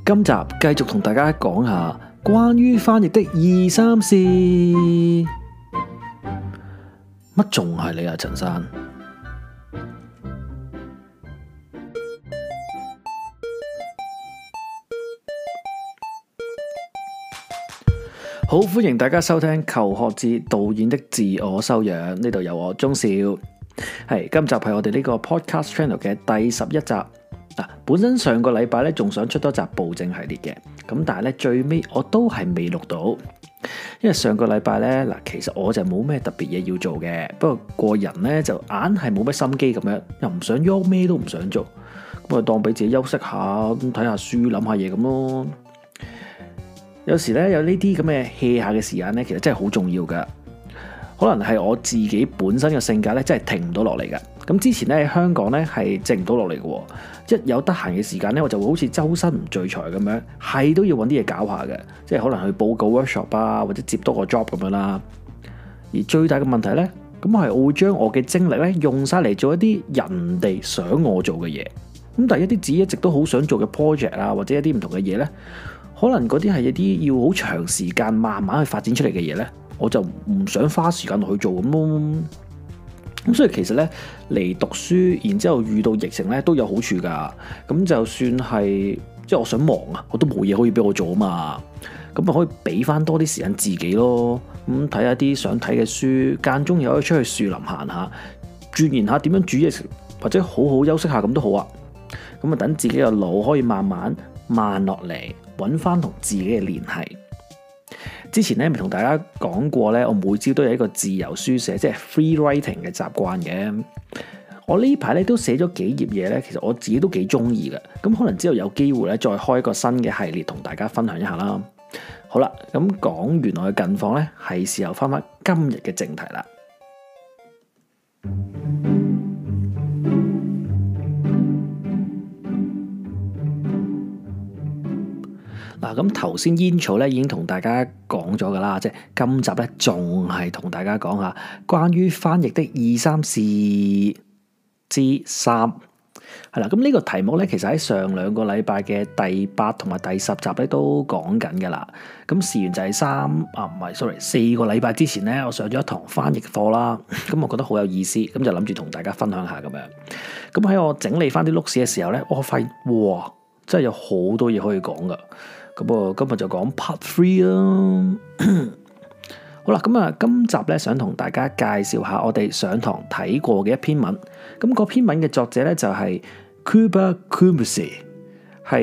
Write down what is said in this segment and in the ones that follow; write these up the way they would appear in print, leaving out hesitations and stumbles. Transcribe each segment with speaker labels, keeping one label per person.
Speaker 1: 今集繼續同大家講下關於翻譯的二三事。乜仲係你啊，陳生？好，歡迎大家收聽求學志導演的自我修養，呢度有我鍾少。今集係我哋呢個 podcast channel 嘅第11集。本身上個禮拜咧仲想出多集暴政系列嘅，咁但係咧最尾我都係未錄到，因為上個禮拜咧其實我就冇咩特別嘢要做嘅，不過個人咧就硬係冇乜心機咁樣，又唔想喐，咩都唔想做，咁啊當俾自己休息下，咁睇下書，諗下嘢咁咯。有時咧有呢啲咁嘅 hea 下嘅時間咧，其實真係好重要噶。可能係我自己本身嘅性格咧，真係停唔到落嚟噶。咁之前咧喺香港咧係靜唔到落嚟嘅，一有得閒嘅時間咧，我就會好似周身唔聚財咁樣，係都要揾啲嘢搞下嘅，即係可能去報個 workshop 啊，或者接多個 job 咁樣啦。而最大嘅問題咧，咁我會將我嘅精力咧用晒嚟做一啲人哋想我做嘅嘢。咁但係一啲自己一直都好想做嘅 project 啊，或者一啲唔同嘅嘢咧，可能嗰啲係一啲要好長時間慢慢去發展出嚟嘅嘢咧，我就唔想花時間落去做咁咯。咁所以其實咧嚟讀書，然之後遇到疫情咧都有好處㗎。咁就算係即係我想忙啊，我都冇嘢可以俾我做啊嘛。咁咪可以俾翻多啲時間自己咯。咁睇下啲想睇嘅書，間中又可以出去樹林行下，鑽研下點樣煮嘢食，或者好好休息下咁都好啊。咁啊等自己嘅腦可以慢慢慢落嚟，揾翻同自己嘅聯繫。之前咧咪同大家講過咧，我每朝都有一個自由書寫，即係 free writing 嘅習慣嘅。我呢排咧都寫咗幾頁嘢咧，其實我自己都幾中意嘅。咁可能之後有機會咧再開一個新嘅系列同大家分享一下啦。好啦，咁講完我嘅近況咧，係時候翻今日嘅正題啦。咁頭先煙草咧已經同大家講咗噶啦，即係今集咧仲係同大家講下關於翻譯的二三事之3係啦。咁呢個題目咧，其實喺上兩個禮拜嘅第8同埋第10集咧都講緊噶啦。咁事緣就係4個禮拜之前咧，我上咗一堂翻譯課啦。咁我覺得好有意思，咁就諗住同大家分享下咁樣。咁喺我整理翻啲錄事嘅時候咧，我發現哇，真係有好多嘢可以講噶。咁今日就講 Part 3啦。好啦，咁今集咧想同大家介紹下我哋上堂睇過嘅一篇文。咁嗰篇文嘅作者咧就係 Kuba Kumuse， 喺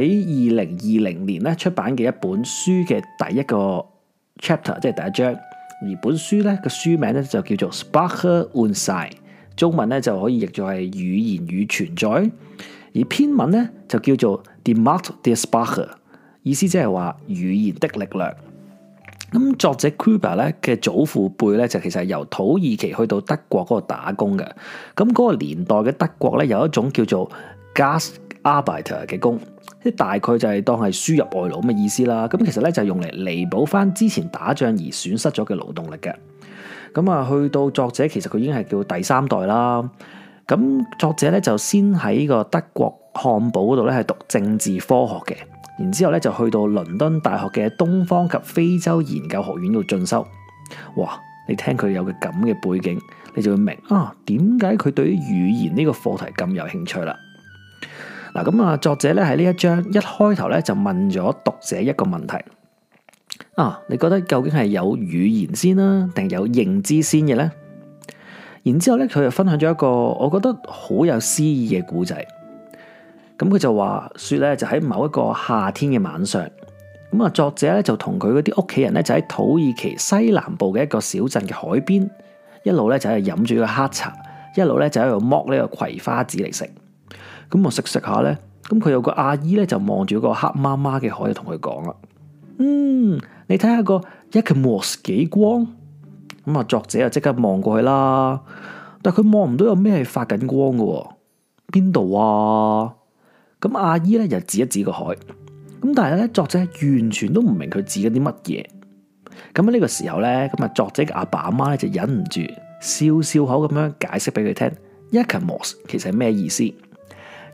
Speaker 1: 2020年咧出版嘅一本書嘅第一個 chapter， 即係第一章。而本書咧個書名咧就叫做 Sprache und Sein， 中文咧就可以譯做係語言與存在。而篇文咧就叫做 Die Macht der Sprache，意思即係話語言的力量。咁作者 Kuba 咧嘅祖父輩咧就其實係由土耳其去到德國嗰度打工嘅。咁嗰個年代嘅德國咧有一種叫做 Gastarbeiter 嘅工，即大概就係當係輸入外勞咁嘅意思啦。咁其實咧就係用嚟彌補翻之前打仗而損失咗嘅勞動力嘅。咁去到作者其實佢已經係叫第3代啦。咁作者咧就先喺個德國漢堡嗰度咧係讀政治科學嘅。然之後咧就去到倫敦大學嘅東方及非洲研究學院度進修。哇！你聽佢有個咁嘅背景，你就會明點解佢對於語言呢個課題咁有興趣啦。咁作者咧喺呢一章一開頭咧就問咗讀者一個問題。你覺得究竟係有語言先啦，定有認知先嘅咧？然之後咧佢又分享咗一個我覺得好有詩意嘅故仔。咁佢就話說咧，就喺某一個夏天嘅晚上，咁作者咧就同佢嗰啲屋企人咧就喺土耳其西南部嘅一個小鎮嘅海邊，一路咧就喺度飲住個黑茶，一路咧就喺度剝呢個葵花籽嚟食。咁食下咧，咁佢有個阿姨咧就望住個黑媽媽嘅海，就同佢講啦：你睇下個Ecmos 幾光。咁作者就即刻望過去啦，但係佢望唔到有咩係發緊光嘅，邊度啊？咁阿姨咧又指一指個海，咁但係咧作者完全都唔明佢指緊啲乜嘢。咁喺呢個時候咧，咁作者嘅阿爸阿媽咧就忍唔住笑笑口咁樣解釋俾佢聽，Ecmos 其實係咩意思？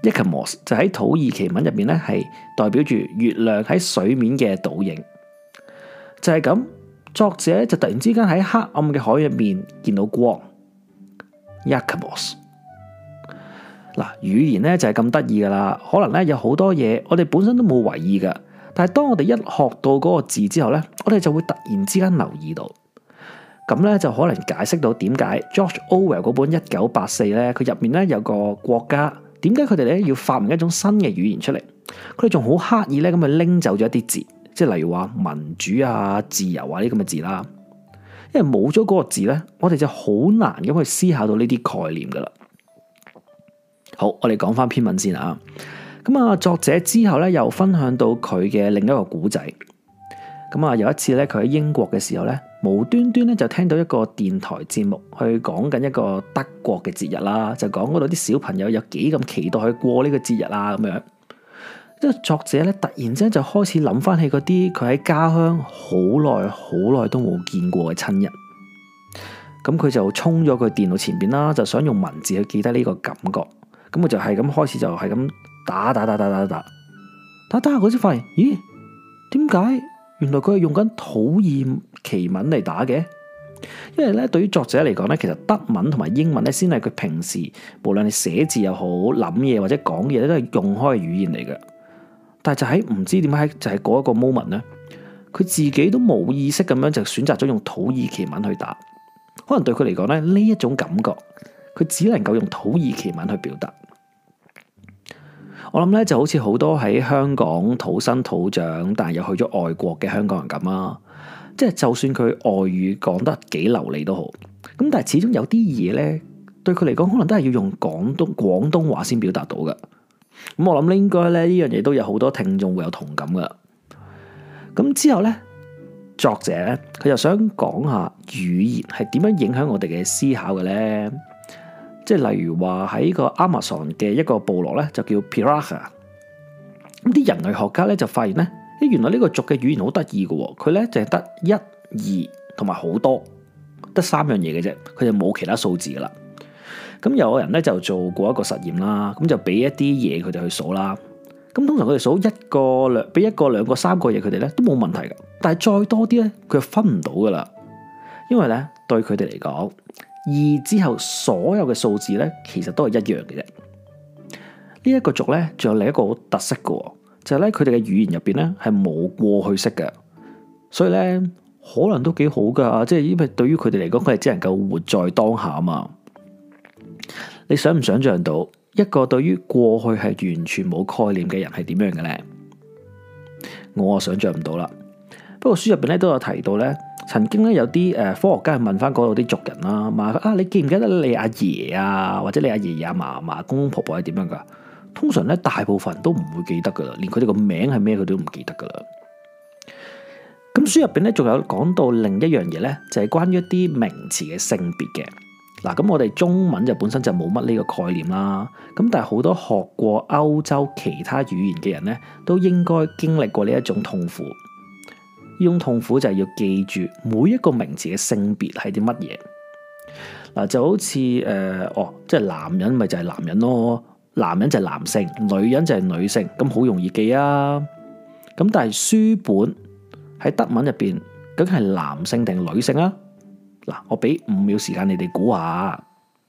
Speaker 1: Yekamos 就喺土耳其文入面咧係代表住月亮喺水面嘅倒影。就係咁，作者就突然之間喺黑暗嘅海入面見到光。Yekamos 嗱，語言咧就係咁得意噶啦，可能咧有好多嘢我哋本身都冇為意噶，但係當我哋一學到嗰個字之後咧，我哋就會突然之間留意到，咁咧就可能解釋到點解 George Orwell 嗰本1984咧，佢入面咧有個國家，點解佢哋咧要發明一種新嘅語言出嚟？佢哋仲好刻意咧咁去拎走咗一啲字，即係例如話民主啊、自由啊呢咁嘅字啦，因為冇咗嗰個字咧，我哋就好難咁去思考到呢啲概念噶啦。好，我哋講翻篇文先啊。咁啊，作者之後咧又分享到佢嘅另一個古仔。咁啊，有一次咧，佢喺英國嘅時候咧，無端端咧就聽到一個電台節目去講緊一個德國嘅節日啦，就講嗰度啲小朋友有幾咁期待去過呢個節日啊咁樣。即係作者咧突然之間就開始諗翻起嗰啲佢喺家鄉好耐都冇見過嘅親人。咁佢就衝咗佢電腦前邊啦，就想用文字去記得呢個感覺。咁佢就係咁開始就係咁打下嗰時發現，咦？點解原來佢係用緊土耳其文嚟打嘅？因為咧，對於作者嚟講咧，其實德文同埋英文咧，先係佢平時無論係寫字又好、諗嘢或者講嘢咧，都係用開嘅語言嚟嘅。但係就喺唔知點解就係嗰一個 moment 咧，佢自己都冇意識咁樣就選擇咗用土耳其文去打。可能對佢嚟講咧，呢一種感覺，佢只能夠用土耳其文去表達。我諗咧就好似好多喺香港土生土長，但係又去咗外國嘅香港人咁啊。即係就算佢外語講得幾流利都好，咁但係始終有啲嘢咧，對佢嚟講可能都係要用廣東話先表達到嘅。咁我諗咧應該咧呢樣嘢都有好多聽眾會有同感噶。咁之後咧，作者咧佢又想講下語言係點樣影響我哋嘅思考嘅咧。即係例如話喺個 Amazon 嘅一個部落咧，就叫 Piraka。咁啲人類學家咧就發現咧，原來呢個族嘅語言好得意嘅，佢咧淨係得1、2同埋好多，得3樣嘢嘅啫，佢就冇其他數字噶啦。咁有個人咧就做過一個實驗啦，咁就俾一啲嘢佢哋去數啦。咁通常佢哋數俾一個、兩個、3個嘢佢哋咧都冇問題噶，但係再多啲咧，佢就分唔到噶啦，因為咧對佢哋嚟講，二之後所有嘅數字咧，其實都係一樣嘅啫。呢一個族咧，仲有另一個好特色嘅，就係咧佢哋嘅語言入邊咧係冇過去式嘅，所以咧可能都幾好噶。即係因為對於佢哋嚟講，佢係只能夠活在當下啊嘛。你想唔想象到一個對於過去係完全冇概念嘅人係點樣嘅咧？我想象唔到啦。不過書入邊咧都有提到咧。曾經咧有啲科學家去問翻嗰度啲族人啦，問佢你記唔記得你阿爺啊，或者你阿爺爺阿嫲、公公婆婆係點樣噶？通常咧大部分人都唔會記得噶啦，連佢哋個名係咩佢都唔記得噶啦。咁書入邊咧仲有講到另一樣嘢咧，就係關於一啲名詞嘅性別嘅。嗱，咁我哋中文就本身就冇乜呢個概念啦。咁但係好多學過歐洲其他語言嘅人咧，都應該經歷過呢一種痛苦。呢種痛苦就係要記住每一個名詞嘅性別係啲乜嘢。嗱，就好似即係男人咪就係男人咯，男人就係男性，女人就係女性，咁好容易記啊。咁但係書本喺德文入邊究竟係男性定女性啊？嗱，我俾5秒時間你哋估下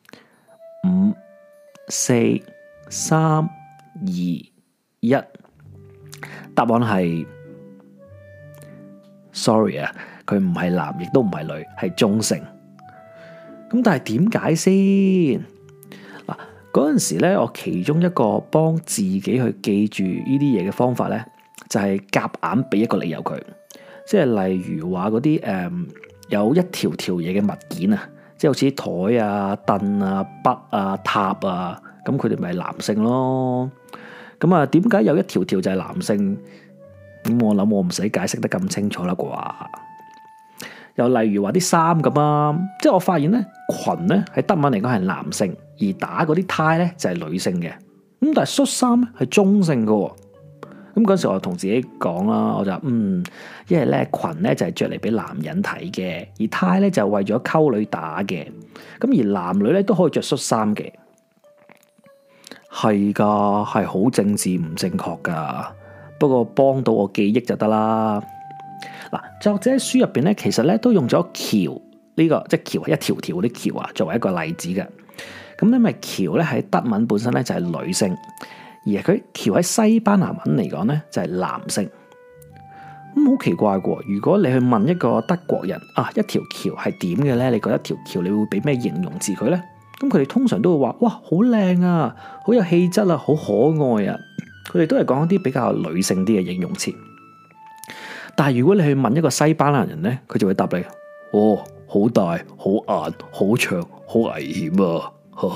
Speaker 1: ，5、4、3、2、1，答案係。Sorry 啊，佢唔係男，亦都唔係女，係中性。咁但係點解先？嗱，嗰陣時咧，我其中一個幫自己去記住呢啲嘢嘅方法咧，就係夾硬俾一個理由佢。即係例如話嗰啲有一條條嘢嘅物件啊，即係好似台啊、凳啊、筆啊、塔啊，咁佢哋咪男性咯。咁啊，點解有一條條就係男性？咁我諗我唔使解釋得咁清楚啦啩。又例如話啲衫咁啊，即係我發現咧，裙咧喺德文嚟講係男性，而打嗰啲呔咧就係女性嘅。咁但係恤衫咧係中性嘅。咁嗰時我同自己講啦，我就因為咧裙咧就係着嚟俾男人睇嘅，而呔咧就係為咗溝女打嘅。咁而男女咧都可以着恤衫嘅。 係噶，係好政治唔正確噶。不過幫到我記憶就得啦。嗱，作者喺書入邊咧，其實咧都用咗橋呢個，即係橋係一條條嗰啲橋啊，作為一個例子嘅。咁因為橋咧喺德文本身咧就係女性，而佢橋喺西班牙文嚟講咧就係男性。咁好奇怪嘅，如果你去問一個德國人啊，一條橋係點嘅咧？你覺得一條橋你會俾咩形容詞佢咧？咁佢哋通常都會話：哇，好靚啊，好有氣質啊，好可愛啊！佢哋都係講一啲比較女性啲嘅形容詞。但係如果你去問一個西班牙人咧，佢就會答你：哦，好大、好硬、好長、好危險啊！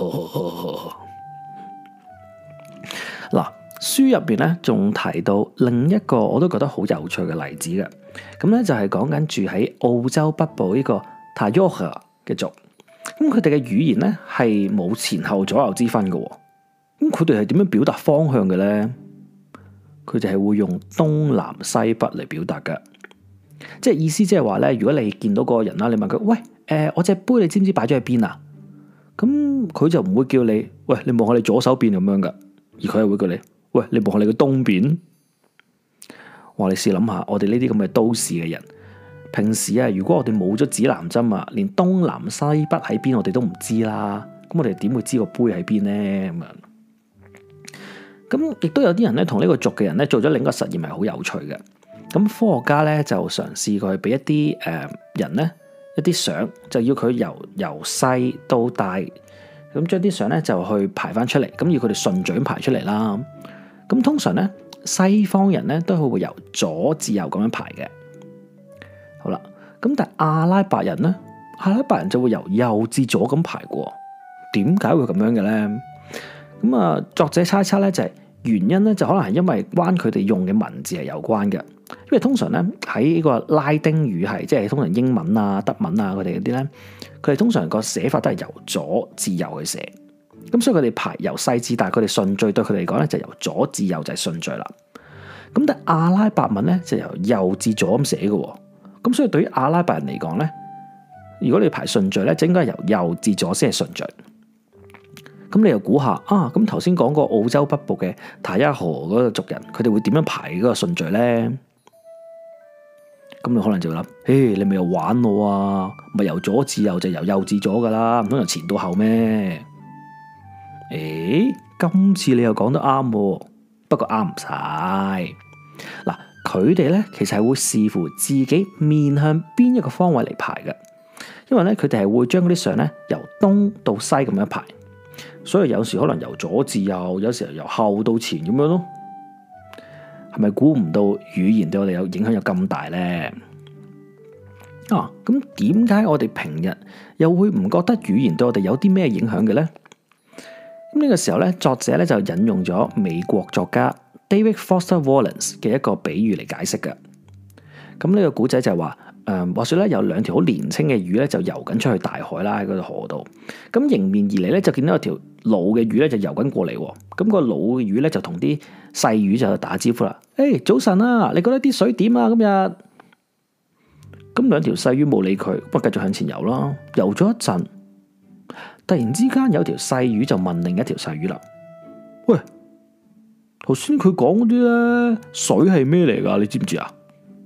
Speaker 1: 嗱，書入邊咧仲提到另一個我都覺得好有趣嘅例子嘅。咁咧就係講緊住喺澳洲北部呢個 Tayoga 嘅族。咁佢哋嘅語言咧係冇前後左右之分嘅。咁佢哋係點樣表達方向嘅咧？佢哋係會用東南西北嚟表達嘅，即係意思即係話咧，如果你見到嗰個人啦，你問佢：喂，我隻杯你知唔知擺咗喺邊啊？咁佢就唔會叫你：喂，你望下你左手邊咁樣噶，而佢係會叫你：喂，你望下你嘅東邊。哇！你試諗下，我哋呢啲咁嘅都市嘅人，平時啊，如果我哋冇咗指南針啊，連東南西北喺邊我哋都唔知啦，咁我哋點會知個杯喺邊咧？咁樣。咁亦都有啲人咧，同呢個族嘅人咧做咗另一個實驗，係好有趣嘅。咁科學家咧就嘗試過去俾一啲人咧一啲相，就要佢由細到大，咁將啲相咧就去排翻出嚟，咁要佢哋順序咁排出嚟啦。咁通常咧西方人咧都係會由左至右咁樣排嘅。好啦，咁但係阿拉伯人咧，阿拉伯人就會由右至左咁排過。點解會咁樣嘅咧？咁啊，作者猜測咧就係原因咧，就可能係因為關佢哋用嘅文字係有關嘅。因為通常咧喺呢個拉丁語系，即係通常英文啊、德文啊佢哋嗰啲咧，佢哋通常個寫法都係由左至右去寫。咁所以佢哋排由細至大，佢哋順序對佢哋嚟講咧就由左至右就係順序啦。咁但係阿拉伯文咧就由右至左咁寫嘅。咁所以對於阿拉伯人嚟講咧，如果你排順序咧，就應該係由右至左先係順序。咁你又估下啊？咁頭先講過澳洲北部嘅塔亞河嗰個族人，佢哋會點樣排嗰個順序咧？咁你可能就會諗：嘿，你咪又玩我啊？咪由左至右就由右至左噶啦，唔通由前到後咩？誒，今次你又講得啱，不過啱唔晒。嗱，佢哋咧其實係會視乎自己面向邊一個方位嚟排嘅，因為咧佢哋係會將嗰啲相咧由東到西咁樣排。所以有時可能由左至右，有時候由後到前咁樣咯。係咪估唔到語言對我哋有影響有咁大咧？啊，咁點解我哋平日又會唔覺得語言對我哋有啲咩影響嘅咧？咁呢個時候咧，作者咧就引用咗美國作家 David Foster Wallace 嘅一個比喻嚟解釋嘅。咁呢個古仔就係話，話說咧有兩條好年輕嘅魚咧就游緊出去大海啦，喺嗰度河度。咁迎面而嚟咧就見到有條老嘅魚咧就游緊過嚟。咁個老嘅魚咧就同啲細魚就打招呼啦。誒，早晨啊，你覺得啲水點啊？今日咁兩條細魚冇理佢，不過繼續向前游啦。游咗一陣，突然之間有條細魚就問另一條細魚啦：喂，頭先佢講嗰啲咧水係咩嚟噶？你知唔知啊？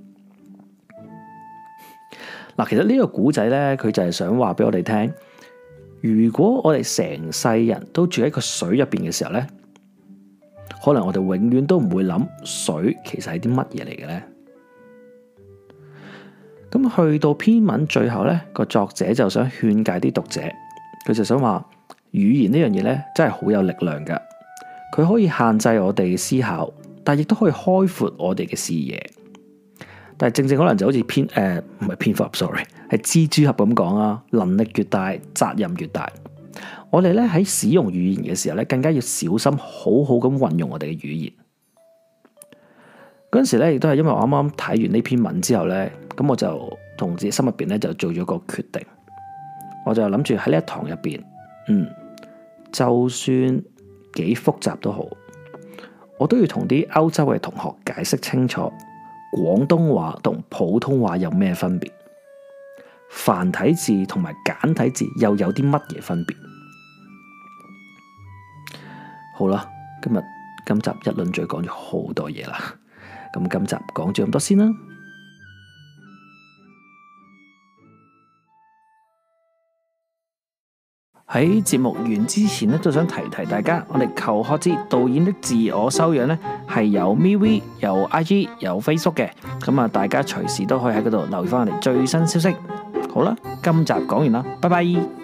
Speaker 1: 嗱，其實呢個古仔咧，佢就係想話俾我哋聽，如果我哋成世人都住喺個水入邊嘅時候咧，可能我哋永遠都唔會諗水其實係啲乜嘢嚟嘅咧。咁去到篇文最後咧，個作者就想勸誡啲讀者，佢就想話語言呢樣嘢咧，真係好有力量噶。佢可以限制我哋嘅思考，但亦都可以開闊我哋嘅視野。但係正可能就好似唔係蝙蝠俠 sorry， 係蜘蛛俠咁講啊，能力越大，責任越大。我哋咧喺使用語言嘅時候咧，更加要小心，好好咁運用我哋嘅語言。嗰陣時咧，亦都係因為我啱啱睇完呢篇文之後咧，咁我就同自己心入邊咧就做咗個決定，我就諗住喺呢一堂入邊，就算幾複雜都好，我都要同啲歐洲嘅同學解釋清楚廣東話同普通話有咩分別，繁體字同埋簡體字又有啲乜嘢分別。 好啦，今集一輪嘴講咗好多嘢啦，咁今集講咗咁多先啦。喺節目完之前咧，都想提大家，我哋求學之導演的自我修養咧係有 MeWe、有 IG、有 Facebook 嘅，咁啊大家隨時都可以喺嗰度留意翻我哋最新消息。好啦，今集講完啦，拜拜。